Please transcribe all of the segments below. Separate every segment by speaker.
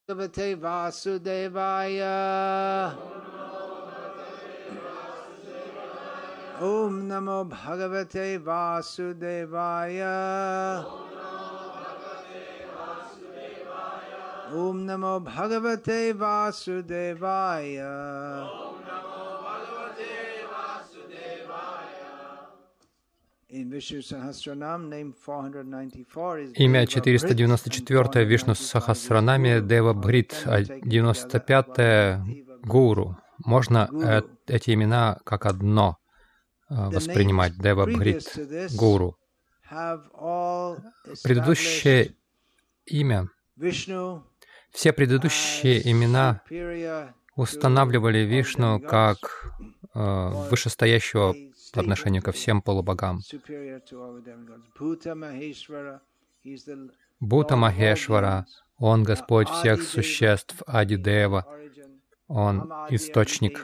Speaker 1: Bhagavate Vasudevaya. Om Namo Bhagavate Vasudevaya. Om Namo Bhagavate Vasudevaya.
Speaker 2: Имя 494 Вишну Сахасранаме Дева Бхрит, 95 Гуру. Можно эти имена как одно воспринимать. Дева Бхрит, Гуру. Предыдущее имя, все предыдущие имена устанавливали Вишну как вышестоящего по отношению ко всем полубогам. Бхута Махешвара, Он Господь всех существ, Адидева, Он источник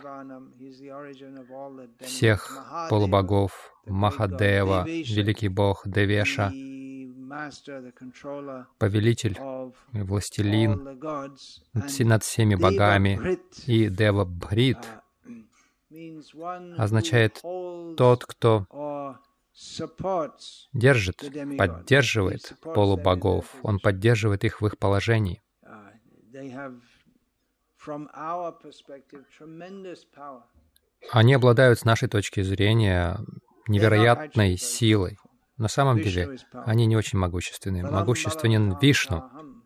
Speaker 2: всех полубогов, Махадева, Великий Бог, Девеша, повелитель, властелин над всеми богами, и Дева Бхрит означает тот, кто держит, поддерживает полубогов, он поддерживает их в их положении. Они обладают с нашей точки зрения невероятной силой. На самом деле, они не очень могущественны. Могущественен Вишну.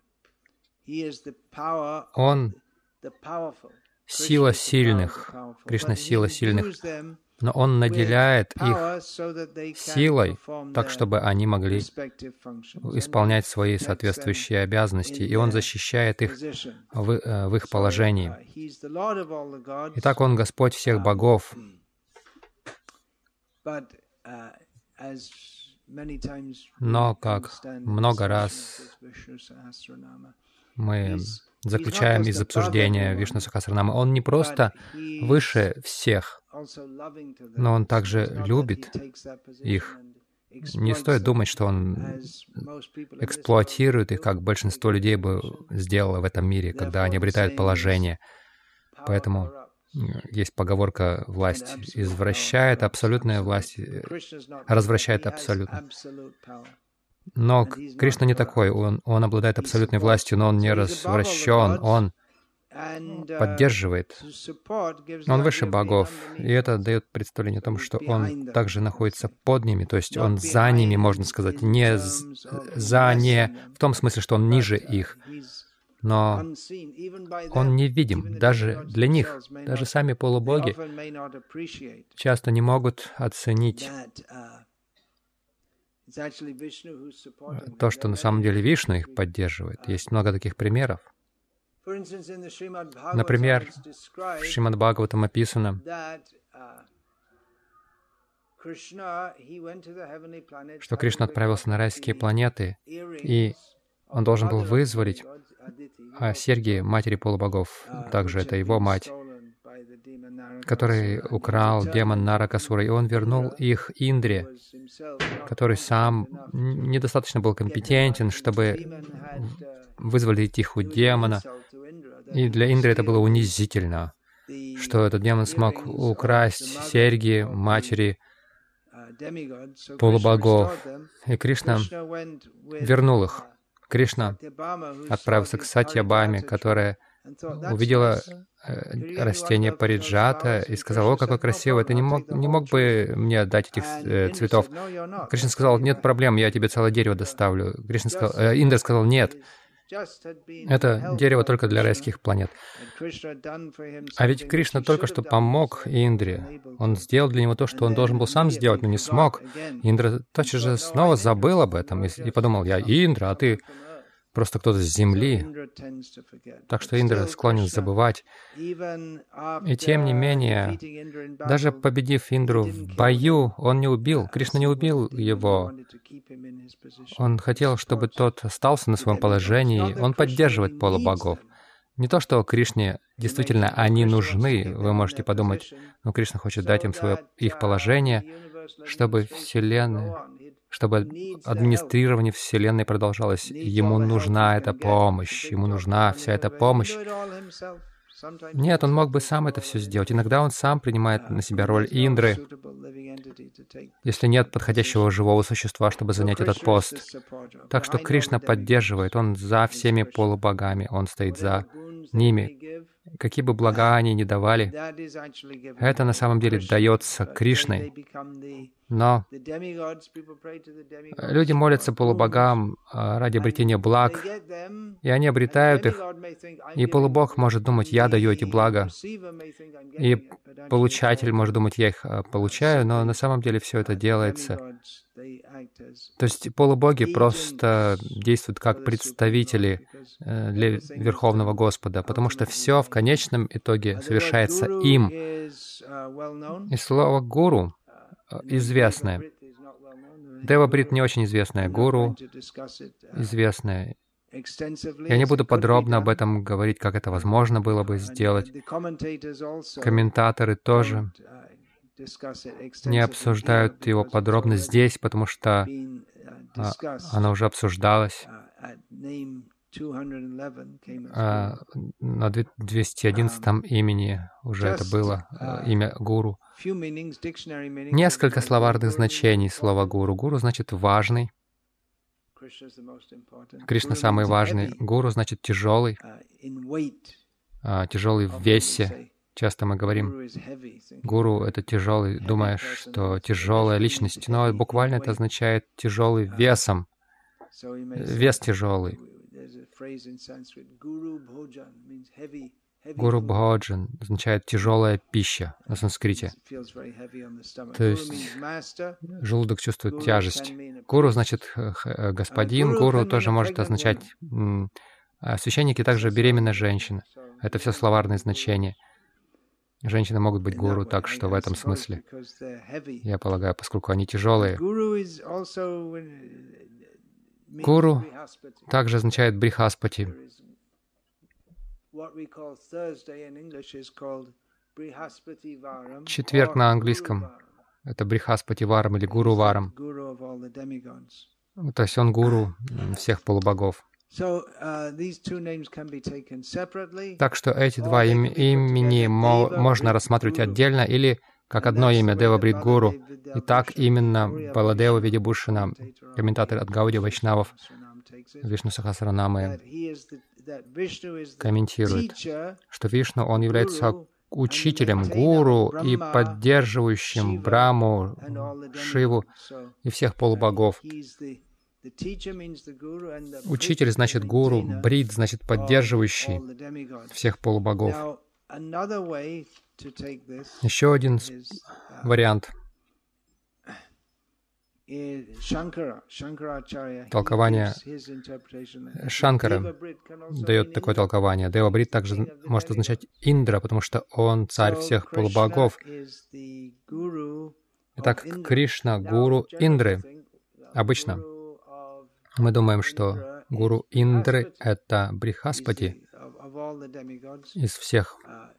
Speaker 2: Он сила сильных, Кришна — сила сильных, но Он наделяет их силой, так, чтобы они могли исполнять свои соответствующие обязанности, и Он защищает их в их положении. Итак, Он Господь всех богов. Но, как много раз мы заключаем из обсуждения Вишну Сахасранамы, Он не просто выше всех, но Он также любит их. Не стоит думать, что Он эксплуатирует их, как большинство людей бы сделало в этом мире, когда они обретают положение. Поэтому есть поговорка: власть извращает, абсолютная власть развращает абсолютно. Но Кришна не такой, он обладает абсолютной властью, но Он не развращен, Он поддерживает. Он выше богов, и это дает представление о том, что Он также находится под ними, то есть Он за ними, можно сказать, не в том смысле, что Он ниже их, но Он невидим даже для них. Даже сами полубоги часто не могут оценить то, что на самом деле Вишну их поддерживает. Есть много таких примеров. Например, в Шримад Бхагаватам описано, что Кришна отправился на райские планеты, и Он должен был вызволить серьги матери полубогов, также это его мать, который украл демон Наракасура, и он вернул их Индре, который сам недостаточно был компетентен, чтобы вызволить их у демона. И для Индры это было унизительно, что этот демон смог украсть серьги матери полубогов. И Кришна вернул их. Кришна отправился к Сатьябаме, которая увидела растение париджата и сказала: «О, какое красивое, ты не мог бы мне дать этих цветов?» Кришна сказал: «Нет проблем, я тебе целое дерево доставлю». Индра сказал: «Нет, это дерево только для райских планет». А ведь Кришна только что помог Индре. Он сделал для него то, что он должен был сам сделать, но не смог. Индра тотчас же снова забыл об этом и подумал: «Я Индра, а ты просто кто-то с земли». Так что Индра склонен забывать. И тем не менее, даже победив Индру в бою, он не убил. Кришна не убил его. Он хотел, чтобы тот остался на своем положении. Он поддерживает полубогов. Не то, что Кришне действительно они нужны. Вы можете подумать, но Кришна хочет дать им их положение, чтобы чтобы администрирование Вселенной продолжалось. Ему нужна эта помощь, ему нужна вся эта помощь. Нет, он мог бы сам это все сделать. Иногда он сам принимает на себя роль Индры, если нет подходящего живого существа, чтобы занять этот пост. Так что Кришна поддерживает, он за всеми полубогами, он стоит за ними. Какие бы блага они ни давали, это на самом деле дается Кришной. Но люди молятся полубогам ради обретения благ, и они обретают их, и полубог может думать, я даю эти блага, и получатель может думать, я их получаю, но на самом деле все это делается. То есть полубоги просто действуют как представители для Верховного Господа, потому что все в конечном итоге совершается им. И слово «гуру» известное. Дева-брит не очень известное, гуру известное. Я не буду подробно об этом говорить, как это возможно было бы сделать. Комментаторы тоже не обсуждают его подробно здесь, потому что оно уже обсуждалось. На 211 имени уже это было, имя гуру. Несколько словарных значений слова гуру. Гуру значит «важный». Кришна самый важный. Гуру значит «тяжелый», тяжелый в весе. Часто мы говорим, гуру — это тяжелый, думаешь, что тяжелая личность, но буквально это означает тяжелый весом, вес тяжелый. Гуру Бходжан означает тяжелая пища на санскрите. То есть желудок чувствует тяжесть. Гуру значит господин, гуру тоже может означать священники, также беременная женщина. Это все словарные значения. Женщины могут быть гуру, так что в этом смысле, я полагаю, поскольку они тяжелые. Гуру также означает брихаспати. Четверг на английском — это брихаспати варам или гуру варам. То есть он гуру всех полубогов. Так что эти два имени можно рассматривать отдельно или как одно имя Дева-брит Гуру. И так именно Баладева Видябушина, комментатор от Гауди Вайшнавов, Вишну Сахасранамы, комментирует, что Вишну, он является учителем, гуру и поддерживающим Браму, Шиву и всех полубогов. Учитель значит гуру, брит значит поддерживающий всех полубогов. Еще один вариант. Толкование Шанкара дает такое толкование. Дева-брит также может означать Индра, потому что он царь всех полубогов. Итак, Кришна — гуру Индры. Обычно мы думаем, что гуру Индры — это Брихаспати из всех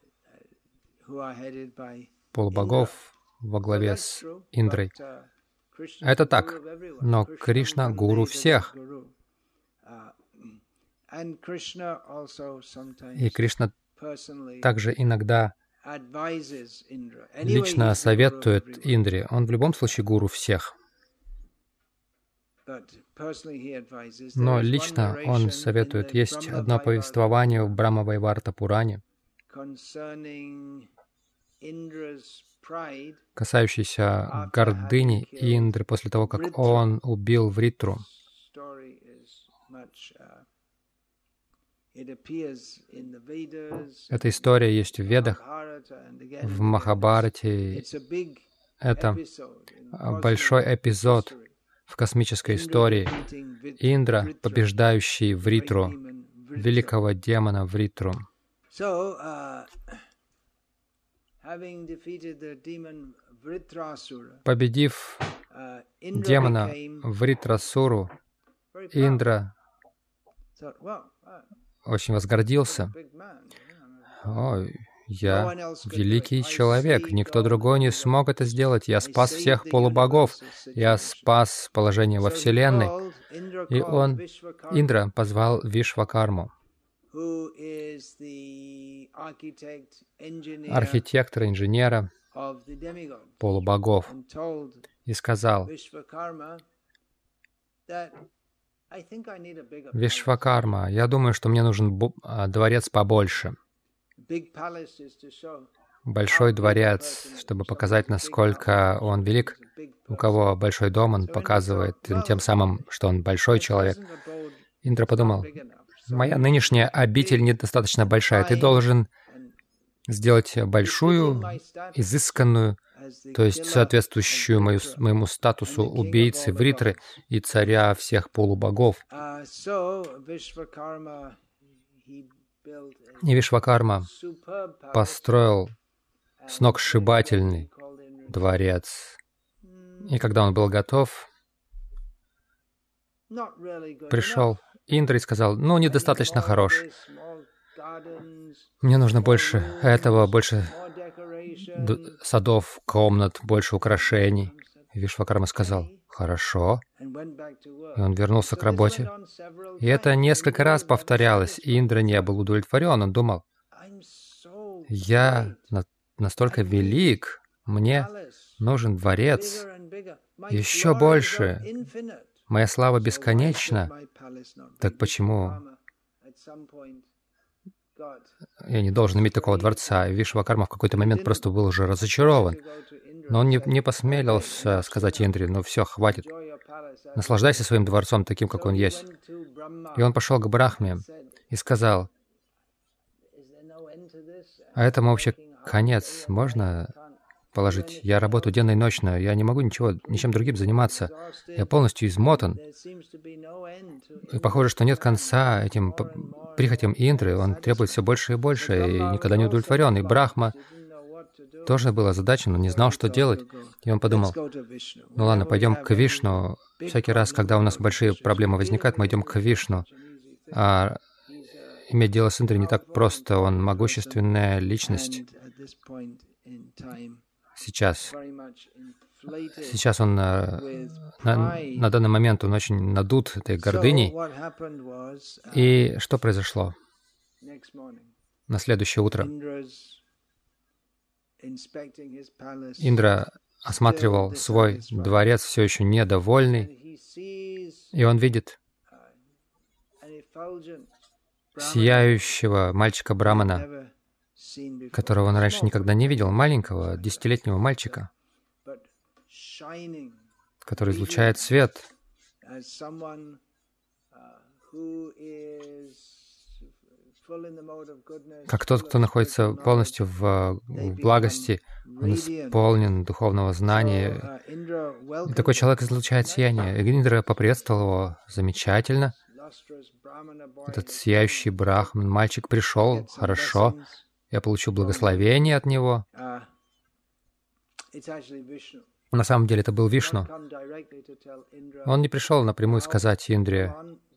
Speaker 2: полубогов во главе с Индрой. Это так, но Кришна — гуру всех. И Кришна также иногда лично советует Индре. Он в любом случае гуру всех. Но лично он советует. Есть одно повествование в Брахма-вайварта Пуране, касающееся гордыни Индры после того, как он убил Вритру. Эта история есть в Ведах, в Махабхарате. Это большой эпизод в космической истории. Индра, побеждающий Вритру, великого демона Вритру. Победив демона Вритрасуру, Индра очень возгордился. «О, Я великий человек, никто другой не смог это сделать. Я спас всех полубогов, я спас положение во Вселенной. И Индра позвал Вишвакарму, архитектора, инженера полубогов, и сказал: Вишвакарма, я думаю, что мне нужен дворец побольше. Большой дворец, чтобы показать, насколько он велик. У кого большой дом, он показывает тем самым, что он большой человек. Индра подумал: моя нынешняя обитель недостаточно большая. Ты должен сделать большую, изысканную, то есть соответствующую моему статусу убийцы Вритры и царя всех полубогов. И Вишвакарма построил сногсшибательный дворец. И когда он был готов, пришел Индра и сказал: ну, недостаточно хорош. Мне нужно больше этого, больше садов, комнат, больше украшений. И Вишвакарма сказал: хорошо. И он вернулся к работе. И это несколько раз повторялось, и Индра не был удовлетворен. Он думал: я настолько велик, мне нужен дворец еще больше. Моя слава бесконечна. Так почему я не должен иметь такого дворца? И Вишвакарма в какой-то момент просто был уже разочарован. Но он не посмелился сказать Индре: ну все, хватит. Наслаждайся своим дворцом таким, как он есть. И он пошел к Брахме и сказал: а этому вообще конец можно положить? Я работаю денно и ночно, я не могу ничем другим заниматься. Я полностью измотан. И похоже, что нет конца этим прихотям Индры. Он требует все больше и больше, и никогда не удовлетворен. И Брахма тоже был озадачен, он не знал, что делать. И он подумал: ну ладно, пойдем к Вишну. Всякий раз, когда у нас большие проблемы возникают, мы идем к Вишну. А иметь дело с Индрой не так просто. Он могущественная личность. Сейчас он на данный момент он очень надут этой гордыней. И что произошло? На следующее утро Индра осматривал свой дворец, все еще недовольный, и он видит сияющего мальчика-брамана, которого он раньше никогда не видел, маленького, 10-летнего мальчика, который излучает свет, как тот, кто находится полностью в благости, он исполнен духовного знания. И такой человек излучает сияние. Индра поприветствовал его замечательно. Этот сияющий брахман, мальчик пришел, хорошо. Я получил благословение от него. На самом деле это был Вишну. Он не пришел напрямую сказать Индре: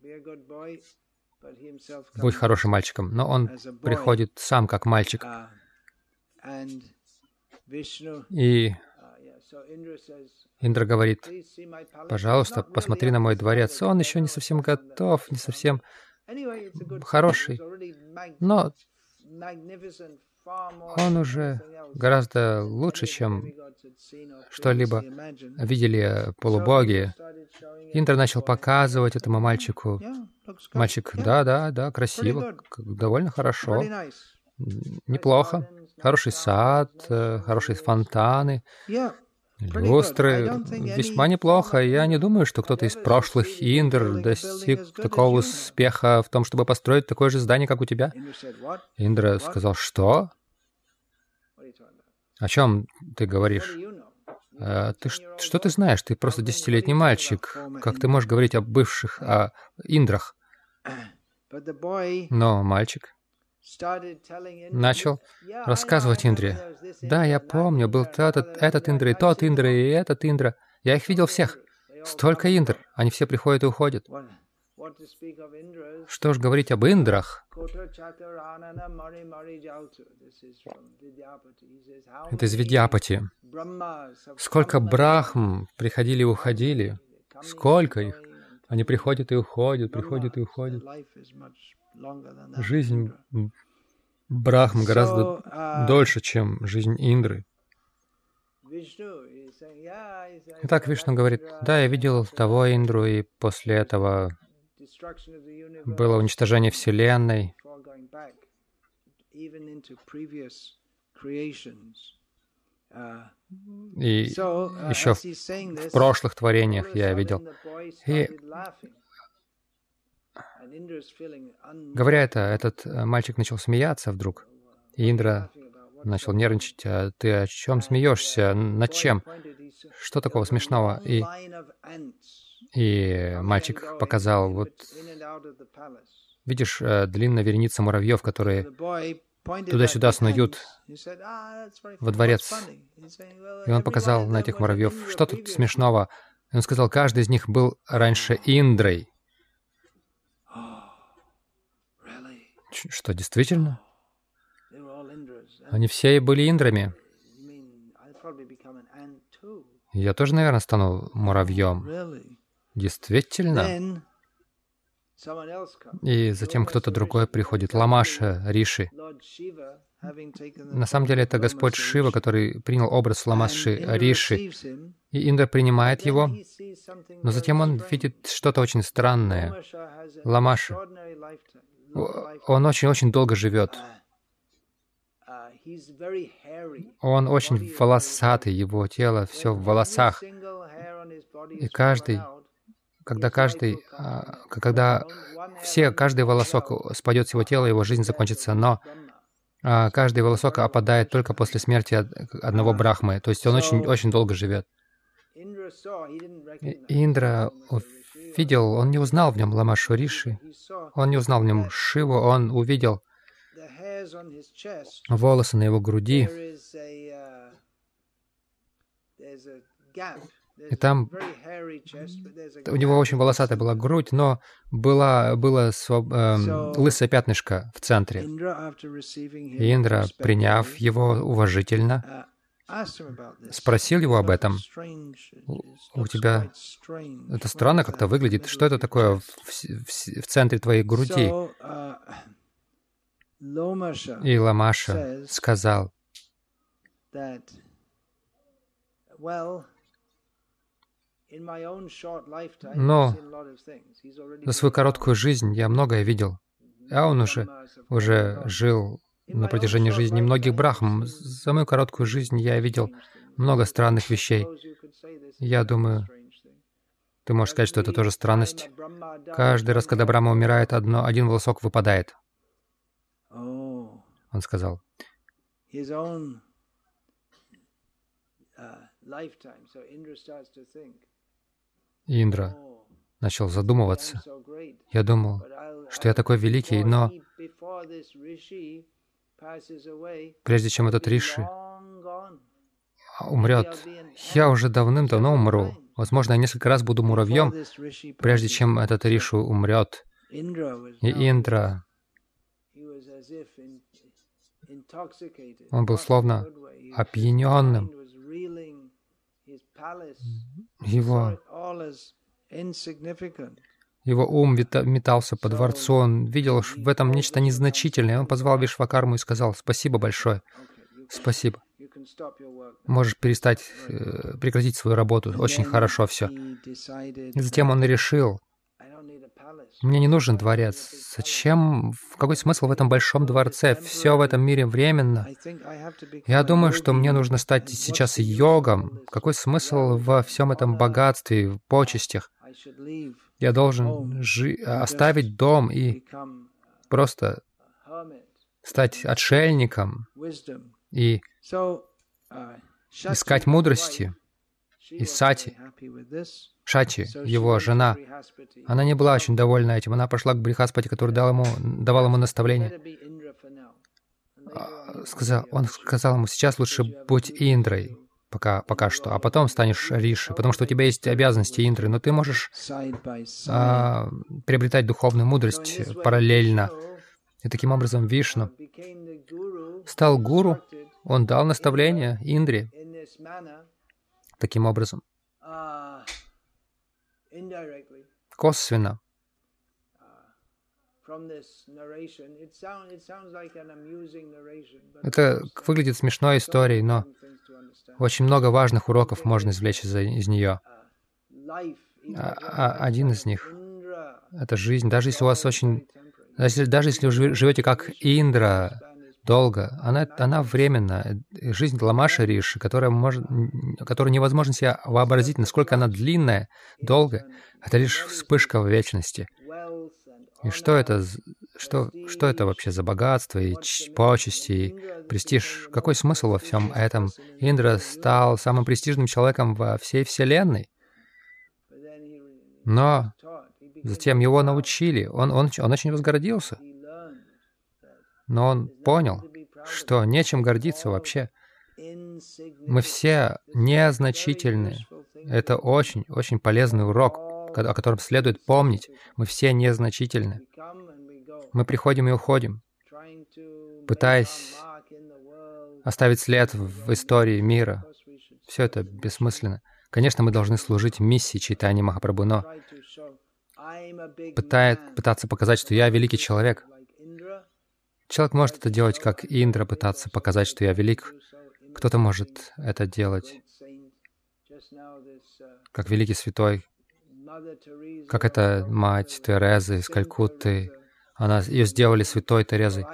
Speaker 2: будь хорошим мальчиком, но он приходит сам как мальчик. И Индра говорит: пожалуйста, посмотри на мой дворец. Он еще не совсем готов, не совсем хороший, но он уже гораздо лучше, чем что-либо видели полубоги. Индра начал показывать этому мальчику. Мальчик: да, красиво, довольно хорошо, неплохо. Хороший сад, хорошие фонтаны, люстры, весьма неплохо. Я не думаю, что кто-то из прошлых Индр достиг такого успеха в том, чтобы построить такое же здание, как у тебя. Индра сказал: что? О чем ты говоришь? Что ты знаешь? Ты просто 10-летний мальчик. Как ты можешь говорить о бывших Индрах? Но мальчик начал рассказывать Индре: да, я помню, был этот Индра, и тот Индра, и этот Индра. Я их видел всех. Столько Индр. Они все приходят и уходят. Что ж говорить об Индрах? Это из Видьяпати. Сколько брахм приходили и уходили. Сколько их. Они приходят и уходят, приходят и уходят. Жизнь брахм гораздо дольше, чем жизнь Индры. Итак, Вишну говорит, да, я видел того Индру, и после этого было уничтожение Вселенной. И еще в прошлых творениях я видел. И говоря это, этот мальчик начал смеяться вдруг. И Индра начал нервничать. А ты о чем смеешься? Над чем? Что такого смешного? И мальчик показал, вот видишь, длинная вереница муравьев, которые туда-сюда снуют во дворец. И он показал на этих муравьев. Что тут смешного? И он сказал, каждый из них был раньше Индрой. Что, действительно? Они все были Индрами. Я тоже, наверное, стану муравьем. Действительно? И затем кто-то другой приходит, Ламаша, Риши. На самом деле это Господь Шива, который принял образ Ламаши, Риши. И Индра принимает его, но затем он видит что-то очень странное. Ламаша, он очень-очень долго живет. Он очень волосатый, его тело все в волосах. И каждый волосок спадет с его тела, его жизнь закончится, но каждый волосок опадает только после смерти одного брахмы, то есть он очень долго живет. Индра видел, он не узнал в нем Ламашу Риши, он не узнал в нем Шиву, он увидел волосы на его груди, и там у него очень волосатая была грудь, но было лысое пятнышко в центре. И Индра, приняв его уважительно, спросил его об этом. У тебя это странно как-то выглядит. Что это такое в центре твоей груди? И Ламаша сказал, но за свою короткую жизнь я многое видел, а он уже жил на протяжении жизни многих брахм. За мою короткую жизнь я видел много странных вещей. Я думаю, ты можешь сказать, что это тоже странность. Каждый раз, когда Брахма умирает, один волосок выпадает. Он сказал. Индра начал задумываться. Я думал, что я такой великий, но прежде чем этот Риши умрет, я уже давным-давно умру. Возможно, я несколько раз буду муравьем, прежде чем этот Ришу умрет. И Индра, он был словно опьяненным. Его ум метался по дворцу, он видел в этом нечто незначительное. Он позвал Вишвакарму и сказал: «Спасибо большое, спасибо. Можешь прекратить свою работу. Очень хорошо все». И затем он решил: «Мне не нужен дворец. Зачем? Какой смысл в этом большом дворце? Все в этом мире временно. Я думаю, что мне нужно стать сейчас йогом. Какой смысл во всем этом богатстве, в почестях? Я должен оставить дом и просто стать отшельником и искать мудрости». И Сати, Шачи, его жена, она не была очень довольна этим. Она пошла к Брихаспати, который давал ему наставление. Он сказал ему: «Сейчас лучше будь Индрой. пока что, а потом станешь риши, потому что у тебя есть обязанности Индры, но ты можешь приобретать духовную мудрость параллельно. И таким образом Вишну стал гуру, он дал наставление Индре таким образом, косвенно. Это выглядит смешной историей, но очень много важных уроков можно извлечь из нее. Один из них — это жизнь. Даже если у вас даже если вы живете как Индра долго, она временна. Жизнь Ламаша Риши, которую невозможно себе вообразить, насколько она длинная, долгая, это лишь вспышка в вечности. И что это вообще за богатство и почести, и престиж? Какой смысл во всем этом? Индра стал самым престижным человеком во всей Вселенной. Но затем его научили. Он очень возгордился. Но он понял, что нечем гордиться вообще. Мы все незначительны. Это очень полезный урок, о котором следует помнить. Мы все незначительны. Мы приходим и уходим, пытаясь оставить след в истории мира. Все это бессмысленно. Конечно, мы должны служить миссии Чайтаньи Махапрабху, но пытаться показать, что я великий человек. Человек может это делать, как Индра, пытаться показать, что я велик. Кто-то может это делать, как великий святой, как эта мать Терезы из Калькутты. Ее сделали святой Терезой.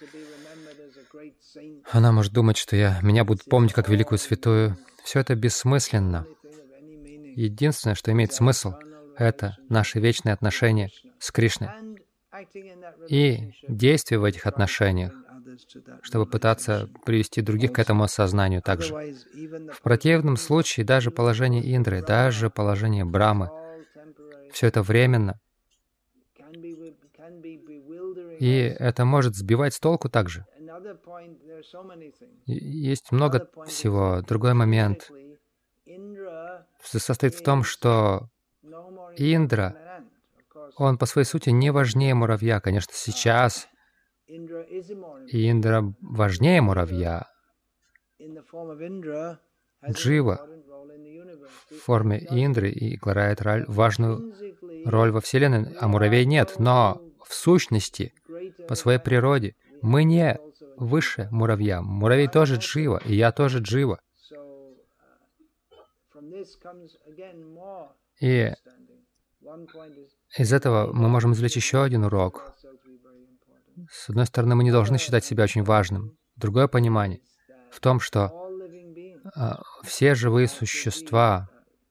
Speaker 2: Она может думать, что меня будут помнить как великую святую. Все это бессмысленно. Единственное, что имеет смысл, это наши вечные отношения с Кришной и действия в этих отношениях, чтобы пытаться привести других к этому осознанию также. В противном случае даже положение Индры, даже положение Брамы, все это временно. И это может сбивать с толку также. Есть много всего. Другой момент состоит в том, что Индра, он по своей сути не важнее муравья. Конечно, сейчас Индра важнее муравья. Джива в форме Индры играет важную роль во Вселенной, а муравей нет. Но в сущности, по своей природе, мы не выше муравья. Муравей тоже Джива, и я тоже Джива. И из этого мы можем извлечь еще один урок. С одной стороны, мы не должны считать себя очень важным. Другое понимание в том, что все живые существа,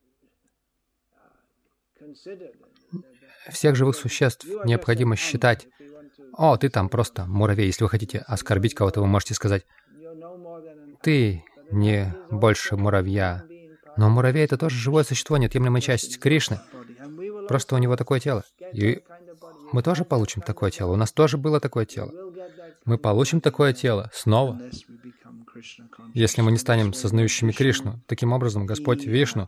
Speaker 2: всех живых существ необходимо считать. О, ты там просто муравей. Если вы хотите оскорбить кого-то, вы можете сказать, ты не больше муравья. Но муравей — это тоже живое существо, неотъемлемая часть Кришны. Просто у него такое тело. И мы тоже получим такое тело. У нас тоже было такое тело. Мы получим такое тело снова, если мы не станем сознающими Кришну. Таким образом, Господь Вишну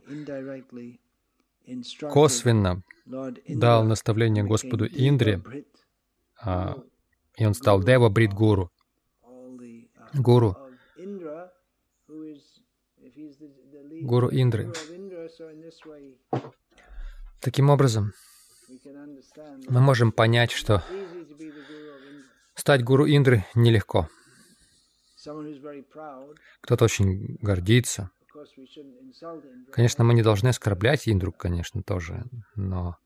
Speaker 2: косвенно дал наставление Господу Индре, и он стал Дева Брит Гуру. Гуру Индры. Таким образом, мы можем понять, что стать гуру Индры нелегко. Кто-то очень гордится. Конечно, мы не должны оскорблять Индру, конечно, тоже, но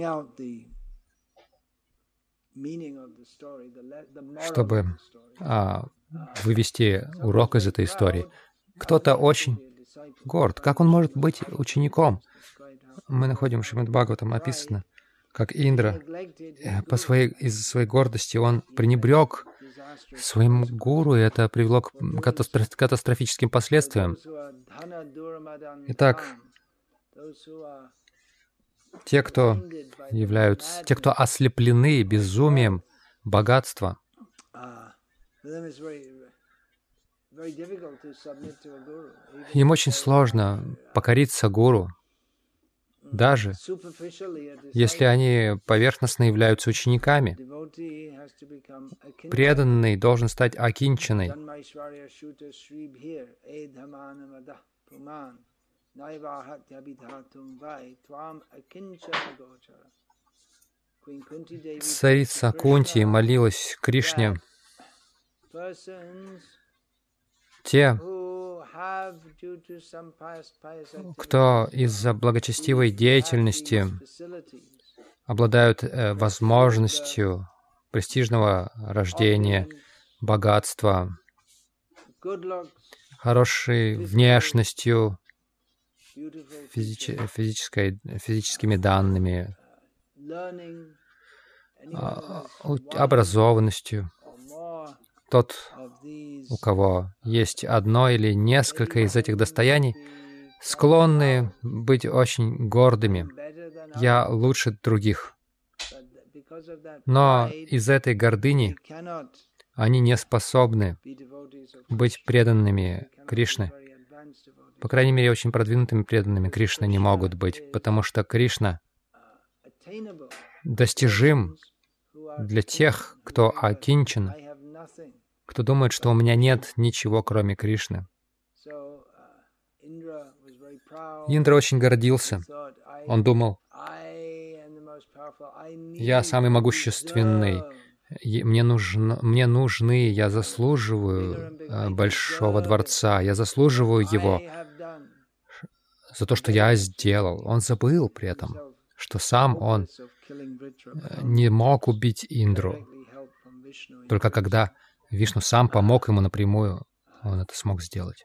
Speaker 2: чтобы вывести урок из этой истории, кто-то очень горд. Как он может быть учеником? Мы находим в Шримад Бхагаватам написано, как Индра из-за своей гордости он пренебрег своим гуру, и это привело к катастрофическим последствиям. Итак, те, кто ослеплены безумием богатства, Им очень сложно покориться гуру, даже если они поверхностно являются учениками. Преданный должен стать акинчаной. Царица Кунти молилась Кришне. Те, кто из-за благочестивой деятельности обладают возможностью престижного рождения, богатства, хорошей внешностью, физическими данными, образованностью. Тот, у кого есть одно или несколько из этих достояний, склонны быть очень гордыми. Я лучше других. Но из этой гордыни они не способны быть преданными Кришне. По крайней мере, очень продвинутыми преданными Кришне не могут быть, потому что Кришна достижим для тех, кто акинчан, кто думает, что у меня нет ничего, кроме Кришны. Индра очень гордился. Он думал, я самый могущественный, мне нужны, я заслуживаю большого дворца, я заслуживаю его за то, что я сделал. Он забыл при этом, что сам он не мог убить Индру. Только когда Вишну сам помог ему напрямую, он это смог сделать.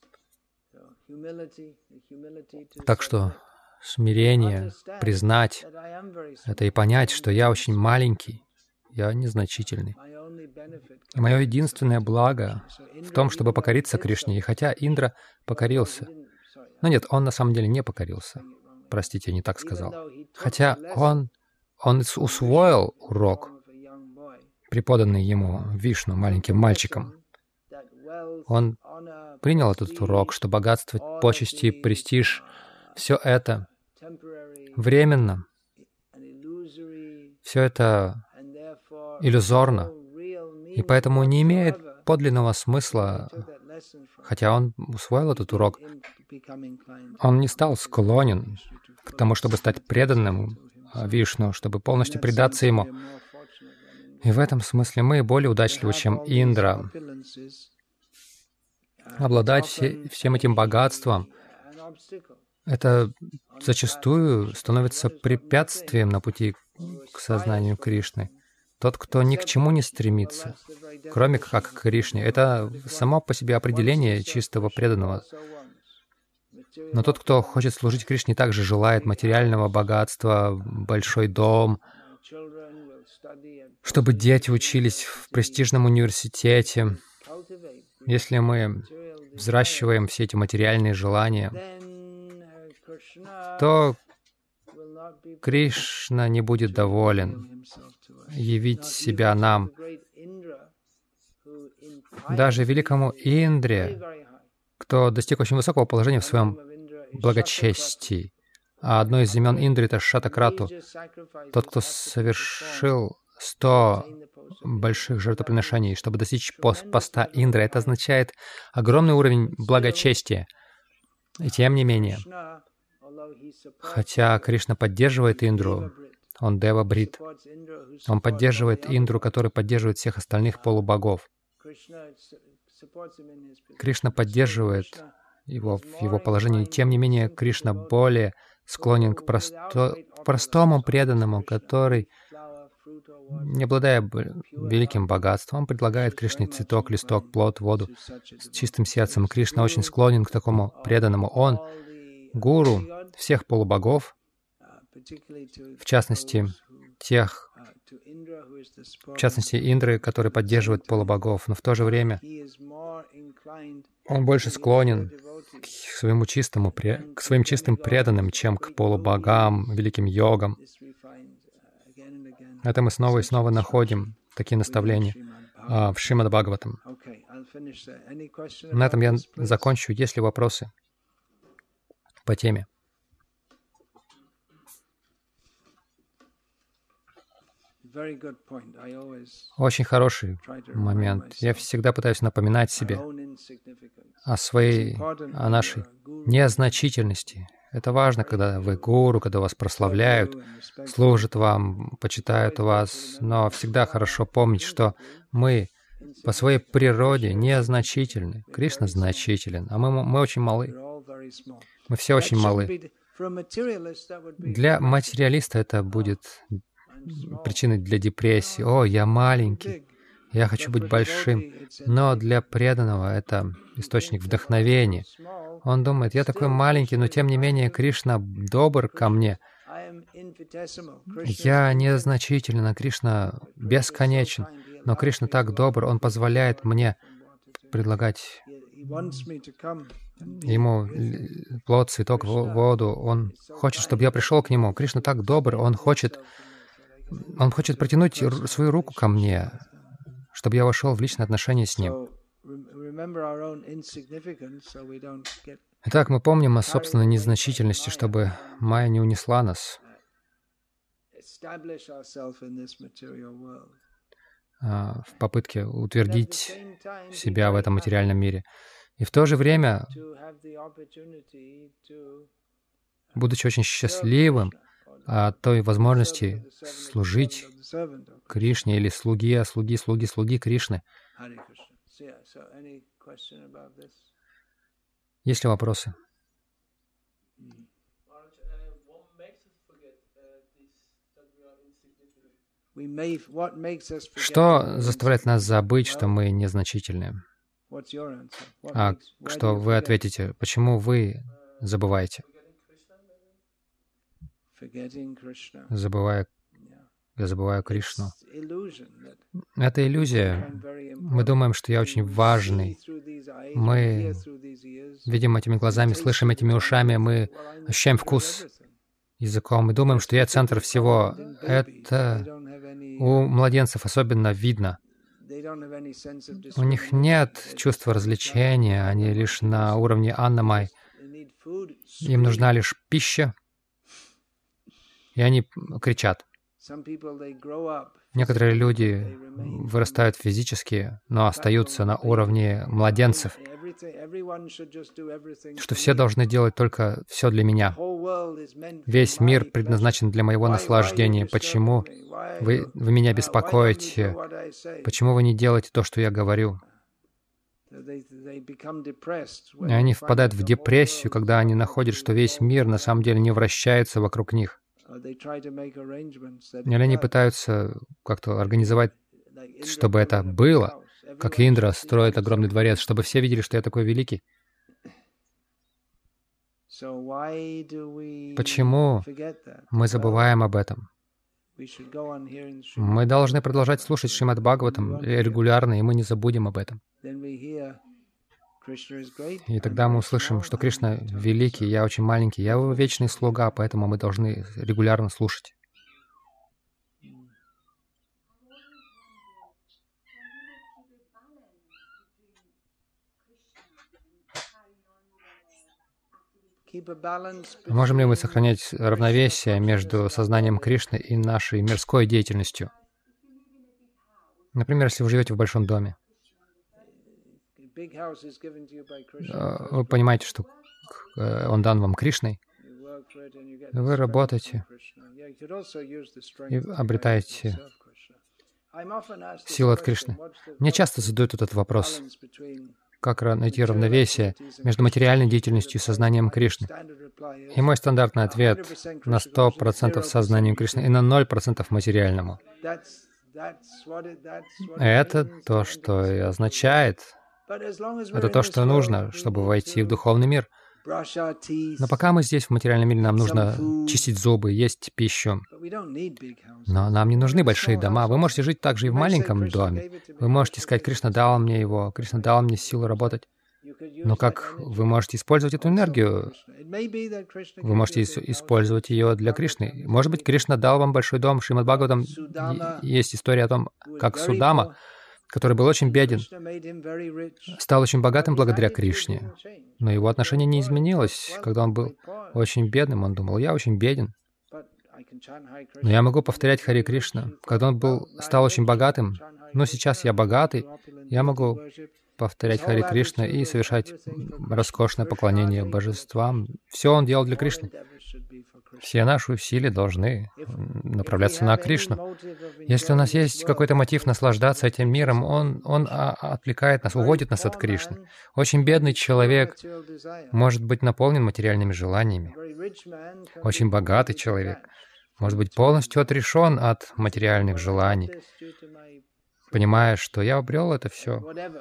Speaker 2: Так что смирение, признать это и понять, что я очень маленький, я незначительный. И мое единственное благо в том, чтобы покориться Кришне. И хотя Индра покорился, но нет, он на самом деле не покорился. Простите, я не так сказал. Хотя он усвоил урок, преподанный ему Вишну, маленьким мальчиком. Он принял этот урок, что богатство, почести, престиж — все это временно, все это иллюзорно, и поэтому не имеет подлинного смысла, хотя он усвоил этот урок, он не стал склонен к тому, чтобы стать преданным Вишну, чтобы полностью предаться ему. И в этом смысле мы более удачливы, чем Индра. Обладать всем этим богатством — это зачастую становится препятствием на пути к сознанию Кришны. Тот, кто ни к чему не стремится, кроме как к Кришне, это само по себе определение чистого преданного. Но тот, кто хочет служить Кришне, также желает материального богатства, большой дом, чтобы дети учились в престижном университете. Если мы взращиваем все эти материальные желания, то Кришна не будет доволен явить себя нам. Даже великому Индре, кто достиг очень высокого положения в своем благочестии, а одно из имен Индры — это Шатакрату, тот, кто совершил 100 больших жертвоприношений, чтобы достичь поста Индры. Это означает огромный уровень благочестия. И тем не менее, хотя Кришна поддерживает Индру, он Дева-брит, он поддерживает Индру, который поддерживает всех остальных полубогов. Кришна поддерживает его в его положении. Тем не менее, Кришна более склонен к простому преданному, который, не обладая великим богатством, предлагает Кришне цветок, листок, плод, воду с чистым сердцем. Кришна очень склонен к такому преданному. Он гуру всех полубогов, в частности, Индры, которые поддерживают полубогов, но в то же время он больше склонен к своим чистым преданным, чем к полубогам, великим йогам. Это мы снова и снова находим такие наставления в Шримад Бхагаватам. На этом я закончу. Есть ли вопросы по теме? Очень хороший момент. Я всегда пытаюсь напоминать себе о нашей незначительности. Это важно, когда вы гуру, когда вас прославляют, служат вам, почитают вас, но всегда хорошо помнить, что мы по своей природе незначительны. Кришна значителен, а мы очень малы. Мы все очень малы. Для материалиста это будет причиной для депрессии. «О, я маленький, я хочу быть большим». Но для преданного это источник вдохновения. Он думает, я такой маленький, но тем не менее Кришна добр ко мне. Я незначителен, а Кришна бесконечен. Но Кришна так добр, Он позволяет мне предлагать Ему плод, цветок, воду. Он хочет, чтобы я пришел к Нему. Кришна так добр, Он хочет протянуть свою руку ко мне, чтобы я вошел в личные отношения с Ним. Итак, мы помним о собственной незначительности, чтобы майя не унесла нас в попытке утвердить себя в этом материальном мире. И в то же время, будучи очень счастливым от той возможности служить Кришне или слуги Кришны. Есть ли вопросы? Что заставляет нас забыть, что мы незначительны? А что вы ответите? Почему вы забываете? Я забываю Кришну. Это иллюзия. Мы думаем, что я очень важный. Мы видим этими глазами, слышим этими ушами, мы ощущаем вкус языком. Мы думаем, что я центр всего. Это у младенцев особенно видно. У них нет чувства развлечения, они лишь на уровне Аннамай. Им нужна лишь пища, и они кричат. Некоторые люди вырастают физически, но остаются на уровне младенцев, что все должны делать только все для меня. Весь мир предназначен для моего наслаждения. Почему вы меня беспокоите? Почему вы не делаете то, что я говорю? И они впадают в депрессию, когда они находят, что весь мир на самом деле не вращается вокруг них. Или они пытаются как-то организовать, чтобы это было, как Индра строит огромный дворец, чтобы все видели, что я такой великий. Почему мы забываем об этом? Мы должны продолжать слушать Шримад Бхагаватам регулярно, и мы не забудем об этом. И тогда мы услышим, что Кришна великий, я очень маленький, я его вечный слуга, поэтому мы должны регулярно слушать. Можем ли мы сохранять равновесие между сознанием Кришны и нашей мирской деятельностью? Например, если вы живете в большом доме, вы понимаете, что он дан вам Кришной, вы работаете и обретаете силу от Кришны. Мне часто задают этот вопрос, как найти равновесие между материальной деятельностью и сознанием Кришны. И мой стандартный ответ — на 100% сознанием Кришны и на 0% материальному. Это то, что и означает, это то, что нужно, чтобы войти в духовный мир. Но пока мы здесь, в материальном мире, нам нужно чистить зубы, есть пищу. Но нам не нужны большие дома. Вы можете жить также и в маленьком доме. Вы можете сказать, Кришна дал мне его, Кришна дал мне силу работать. Но как вы можете использовать эту энергию? Вы можете использовать ее для Кришны. Может быть, Кришна дал вам большой дом. В Шримад Бхагаватам есть история о том, как Судама, который был очень беден, стал очень богатым благодаря Кришне. Но его отношение не изменилось. Когда он был очень бедным, он думал: я очень беден, но я могу повторять Хари Кришна. Когда он стал очень богатым, ну сейчас я богатый, я могу повторять Хари Кришна и совершать роскошное поклонение божествам. Все он делал для Кришны. Все наши усилия должны направляться на Кришну. Если у нас есть какой-то мотив наслаждаться этим миром, он отвлекает нас, уводит нас от Кришны. Очень бедный человек может быть наполнен материальными желаниями. Очень богатый человек может быть полностью отрешен от материальных желаний, понимая, что я обрел это все.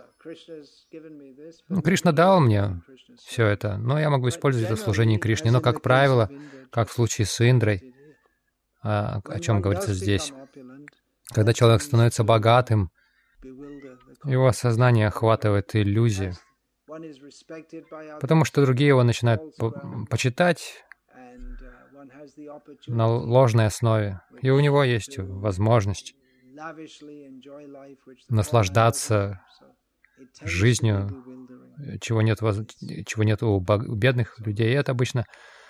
Speaker 2: Кришна дал мне все это, но я могу использовать это в служении Кришне. Но, как правило, как в случае с Индрой, о чем говорится здесь, когда человек становится богатым, его сознание охватывает иллюзия, потому что другие его начинают почитать на ложной основе, и у него есть возможность наслаждаться жизнью, чего нет у бедных людей. И это обычно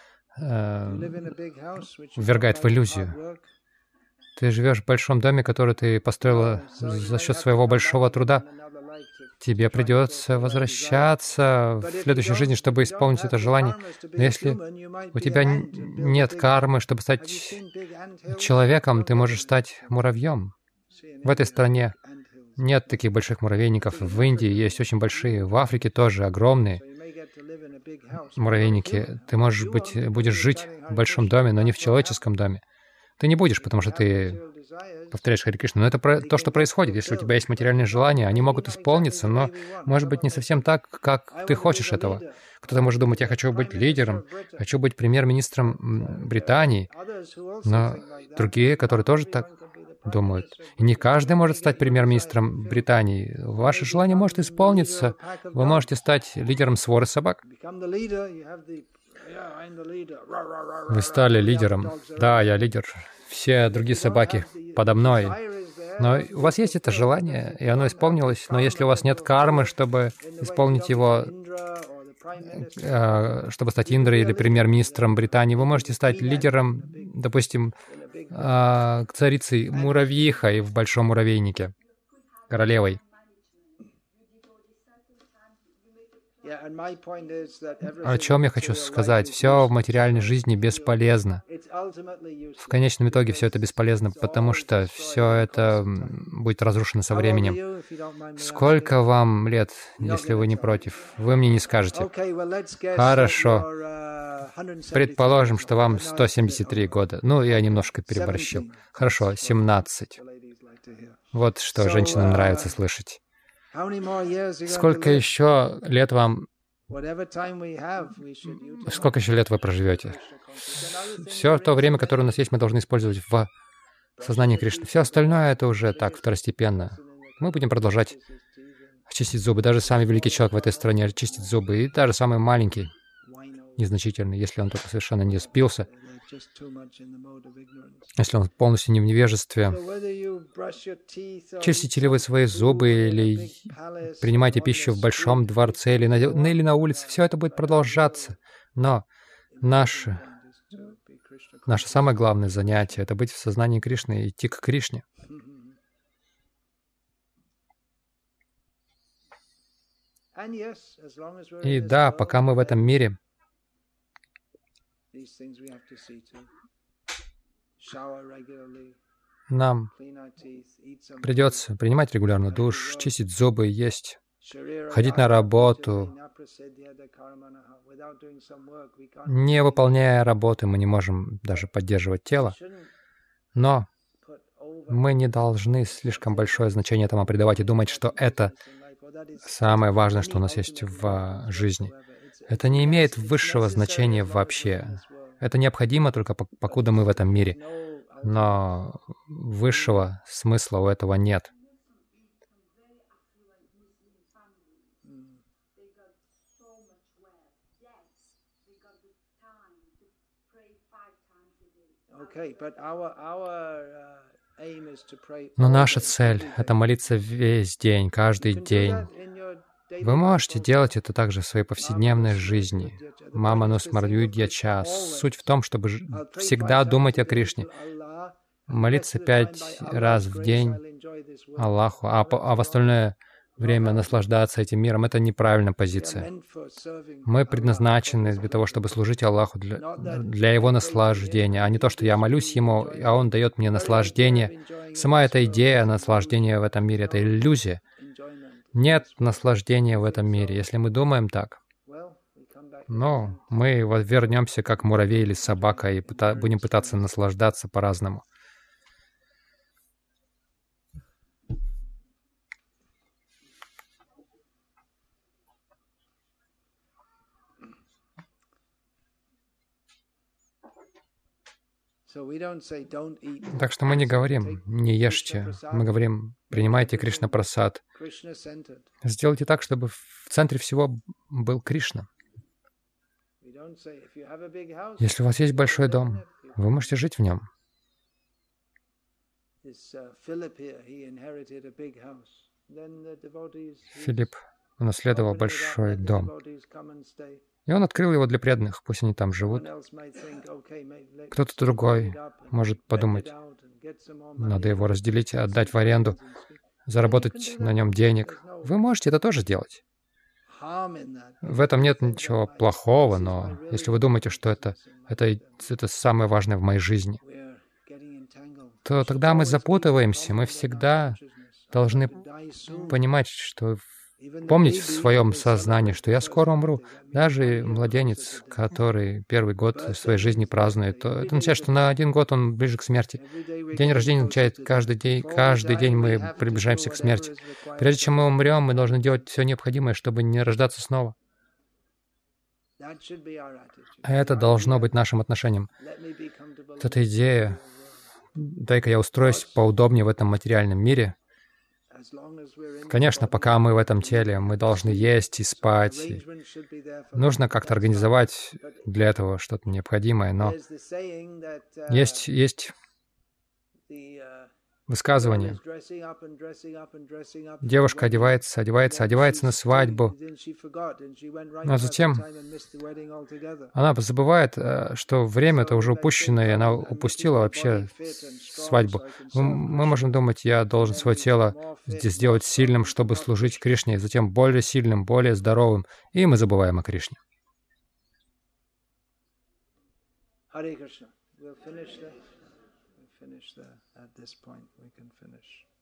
Speaker 2: ввергает в иллюзию. Ты живешь в большом доме, который ты построила за счет своего большого труда. Тебе придется возвращаться в следующей жизни, чтобы исполнить это желание. Но если у тебя нет кармы, чтобы стать человеком, ты можешь стать муравьем. В этой стране нет таких больших муравейников. В Индии есть очень большие, в Африке тоже огромные муравейники. Ты, будешь жить в большом доме, но не в человеческом доме. Ты не будешь, потому что ты повторяешь Хари Кришну. Но это то, что происходит. Если у тебя есть материальные желания, они могут исполниться, но, может быть, не совсем так, как ты хочешь этого. Кто-то может думать: я хочу быть лидером, хочу быть премьер-министром Британии, но другие, которые тоже так думают. И не каждый может стать премьер-министром Британии. Ваше желание может исполниться. Вы можете стать лидером своры собак. Вы стали лидером. Да, я лидер. Все другие собаки подо мной. Но у вас есть это желание, и оно исполнилось. Но если у вас нет кармы, чтобы исполнить его, чтобы стать Индрой или премьер-министром Британии, вы можете стать лидером, допустим, царицей муравьихой в большом муравейнике, королевой. О чем я хочу сказать? Все в материальной жизни бесполезно. В конечном итоге все это бесполезно, потому что все это будет разрушено со временем. Сколько вам лет, если вы не против? Вы мне не скажете. Хорошо. Предположим, что вам 173 года. Ну, я немножко переборщил. Хорошо, 17. Вот что женщинам нравится слышать. Сколько еще лет вам... Сколько еще лет вы проживете? Все то время, которое у нас есть, мы должны использовать в сознании Кришны. Все остальное — это уже так, второстепенно. Мы будем продолжать чистить зубы. Даже самый великий человек в этой стране чистит зубы. И даже самый маленький, незначительный, если он только совершенно не спился, если он полностью не в невежестве. Чистите ли вы свои зубы, или принимаете пищу в большом дворце, или на улице, все это будет продолжаться. Но наше самое главное занятие — это быть в сознании Кришны и идти к Кришне. И да, пока мы в этом мире, нам придется принимать регулярно душ, чистить зубы, есть, ходить на работу. Не выполняя работы, мы не можем даже поддерживать тело. Но мы не должны слишком большое значение этому придавать и думать, что это самое важное, что у нас есть в жизни. Это не имеет высшего значения вообще. Это необходимо только покуда мы в этом мире. Но высшего смысла у этого нет. Но наша цель — это молиться весь день, каждый день. Вы можете делать это также в своей повседневной жизни. Мама Смарвидья Ча. Суть в том, чтобы всегда думать о Кришне. Молиться 5 раз в день Аллаху, а в остальное время наслаждаться этим миром — это неправильная позиция. Мы предназначены для того, чтобы служить Аллаху для Его наслаждения, а не то, что я молюсь Ему, а Он дает мне наслаждение. Сама эта идея наслаждения в этом мире — это иллюзия. Нет наслаждения в этом мире, если мы думаем так. Но мы вернемся как муравей или собака и будем пытаться наслаждаться по-разному. Так что мы не говорим «не ешьте», мы говорим «принимайте Кришна Прасад». Сделайте так, чтобы в центре всего был Кришна. Если у вас есть большой дом, вы можете жить в нем. Филипп унаследовал большой дом. И он открыл его для преданных, пусть они там живут. Кто-то другой может подумать, надо его разделить, отдать в аренду, заработать на нем денег. Вы можете это тоже делать. В этом нет ничего плохого, но если вы думаете, что это самое важное в моей жизни, то тогда мы запутываемся. Мы всегда должны понимать, что помнить в своем сознании, что я скоро умру. Даже младенец, который первый год своей жизни празднует, то это означает, что на 1 год он ближе к смерти. День рождения означает, каждый день мы приближаемся к смерти. Прежде чем мы умрем, мы должны делать все необходимое, чтобы не рождаться снова. Это должно быть нашим отношением. Вот эта идея, дай-ка я устроюсь поудобнее в этом материальном мире. Конечно, пока мы в этом теле, мы должны есть и спать. И нужно как-то организовать для этого что-то необходимое, но есть высказывание. Девушка одевается на свадьбу, но затем она забывает, что время-то уже упущено, и она упустила вообще свадьбу. Мы можем думать, я должен свое тело сделать сильным, чтобы служить Кришне, и затем более сильным, более здоровым, и мы забываем о Кришне. Finish there. At this point, we can finish.